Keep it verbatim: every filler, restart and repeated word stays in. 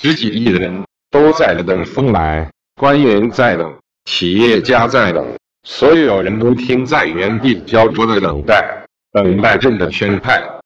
十几亿人都在等风来，官员在等，企业家在等，所有人都听在原地焦灼的等待，等待朕的宣派。